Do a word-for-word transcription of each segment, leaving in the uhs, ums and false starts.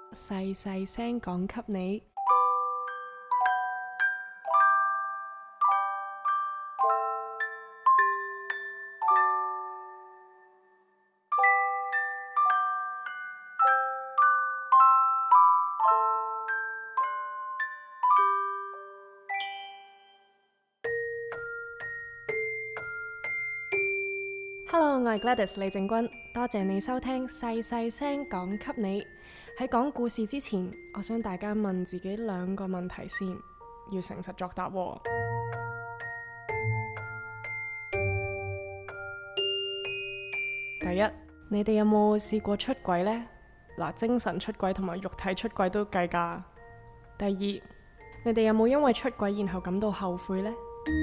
細細聲講給你。Hello， 我係 Gladys 李靜君，多謝你收聽細細聲講給你。喺講故事之前，我想大家問自己兩個問題先，要誠實作答喎。第一，你哋有冇試過出軌呢？嗱，精神出軌同埋肉體出軌都計㗎。第二，你哋有冇因為出軌然後感到後悔呢？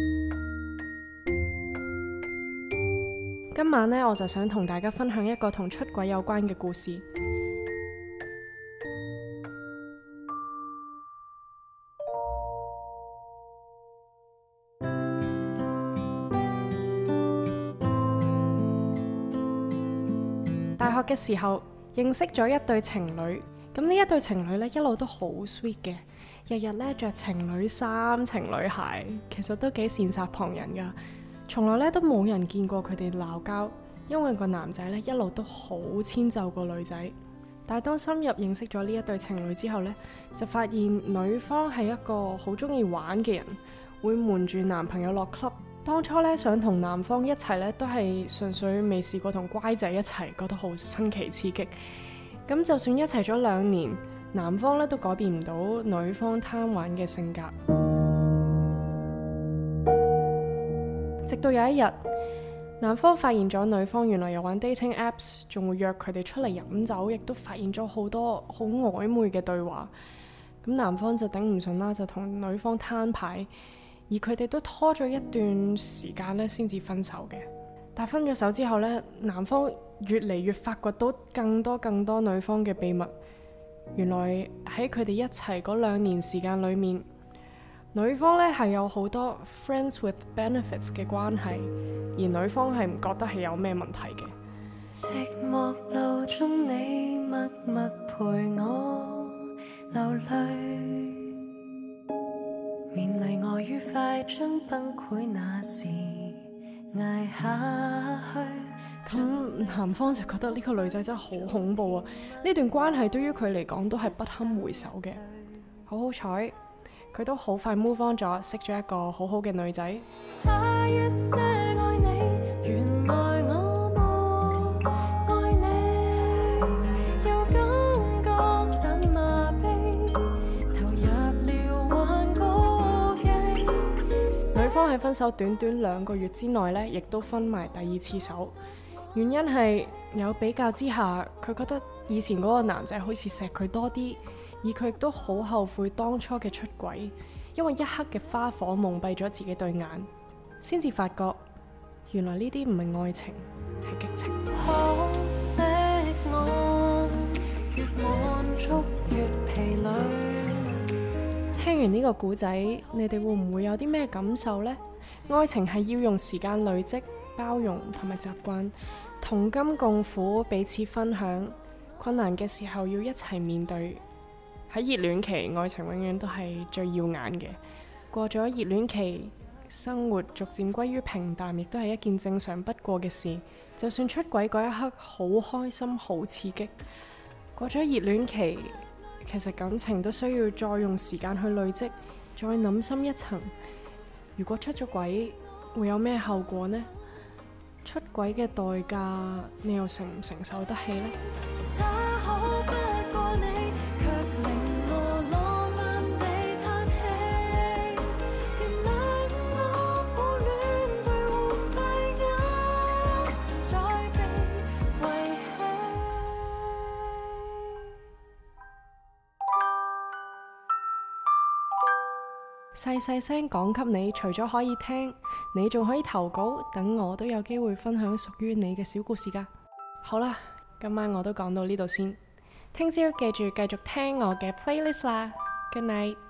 今晚呢，我就想同大家分享一個同出軌有關嘅故事。大學嘅時候認識咗一對情侶，咁呢一對情侶呢，一路都好 sweet 嘅，日日呢着情侶衫、情侶鞋，其實都幾羨煞旁人噶。從來咧都冇人見過佢哋鬧交，因為個男仔咧一路都好遷就個女仔。但係當深入認識咗呢一對情侶之後呢，就發現女方係一個好中意玩嘅人，會瞞住男朋友落 club。當初咧想同男方一齊咧，都係純粹未試過同乖仔一齊，覺得好新奇刺激。咁就算一齊咗兩年，男方咧都改變唔到女方貪玩嘅性格。直到有一日，男方發現咗女方原來有玩 dating apps， 仲會約佢哋出嚟飲酒，亦都發現咗好多好曖昧嘅對話。咁男方就頂唔順啦，就同女方攤牌，而佢哋都拖咗一段時間咧，先至分手嘅。但分咗手之後呢，男方越嚟越發掘到更多更多女方嘅秘密。原來喺佢哋一齊嗰兩年時間裏面，女方咧係有好多 friends with benefits 嘅關係，而女方係唔覺得係有咩問題嘅。寂寞路中你默默陪我流淚，勉勵我愉快將崩潰那時捱下去。咁男方就覺得呢個女仔真係好恐怖啊！呢段關係對於佢嚟講都係不堪回首嘅。好好彩，佢都好快 move on 咗，識咗一個好好嘅女仔。差一些愛你，原來我沒愛你，有感覺但麻痹，投入了幻歌機。女方喺分手短短兩個月之內呢，亦都分埋第二次手。原因係有比較之下，佢覺得以前嗰個男仔好似錫佢多啲。而佢亦都好後悔當初嘅出軌，因為一刻嘅花火蒙蔽咗自己對眼，先至發覺原來呢啲唔係愛情，係激情。可惜我越滿足越疲累。聽完呢個故仔，你哋會唔會有啲咩感受呢？愛情係要用時間累積、包容同埋習慣，同甘共苦，彼此分享，困難嘅時候要一齊面對。喺熱戀期，愛情永遠都係最耀眼嘅。過咗熱戀期，生活逐漸歸於平淡，亦都係一件正常不過嘅事。就算出軌嗰一刻好開心、好刺激，過咗熱戀期，其實感情都需要再用時間去累積，再諗深一層。如果出咗軌，會有咩後果呢？出軌嘅代價，你又承唔承受得起呢？細細聲講給你，除咗可以聽，你仲可以投稿，等我都有機會分享屬於你嘅小故事㗎。好啦，今晚我都講到呢度先，聽朝記住繼續聽我嘅 playlist 啦。Good night。